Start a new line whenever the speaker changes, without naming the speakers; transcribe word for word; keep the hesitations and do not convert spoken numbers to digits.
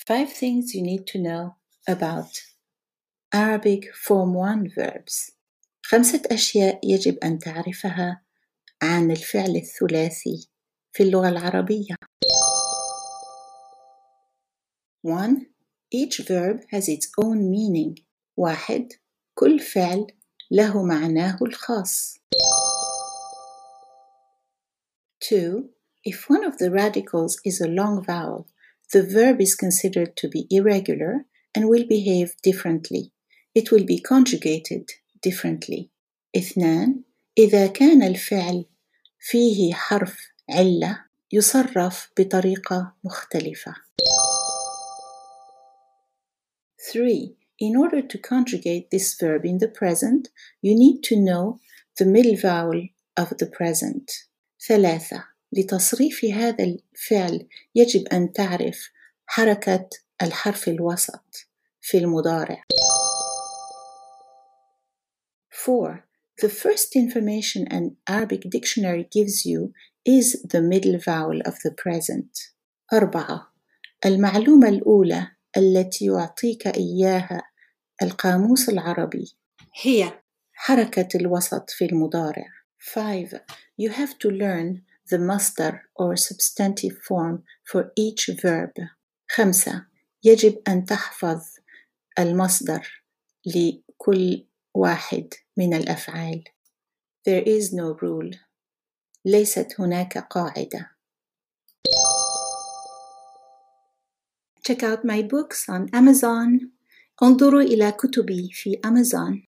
Five things you need to know about Arabic Form one verbs. خمسة أشياء يجب أن تعرفها عن الفعل الثلاثي في اللغة العربية. one. Each verb has its own meaning. واحد. كل فعل له معناه الخاص. two. If one of the radicals is a long vowel, the verb is considered to be irregular and will behave differently. It will be conjugated differently. اثنان. إذا كان الفعل فيه حرف علة يصرف بطريقة مختلفة. three. In order to conjugate this verb in the present, you need to know the middle vowel of the present. ثلاثة. لتصريف هذا الفعل يجب أن تعرف حركة الحرف الوسط في المضارع. four. The first information an Arabic dictionary gives you is the middle vowel of the present. أربعة. المعلومة الأولى التي يعطيك إياها القاموس العربي هي حركة الوسط في المضارع. five. You have to learn the masdar or substantive form for each verb. خمسة. يجب أن تحفظ المصدر لكل واحد من الأفعال. There is no rule. ليست هناك قاعدة. Check out my books on Amazon. انظروا إلى كتبي في Amazon.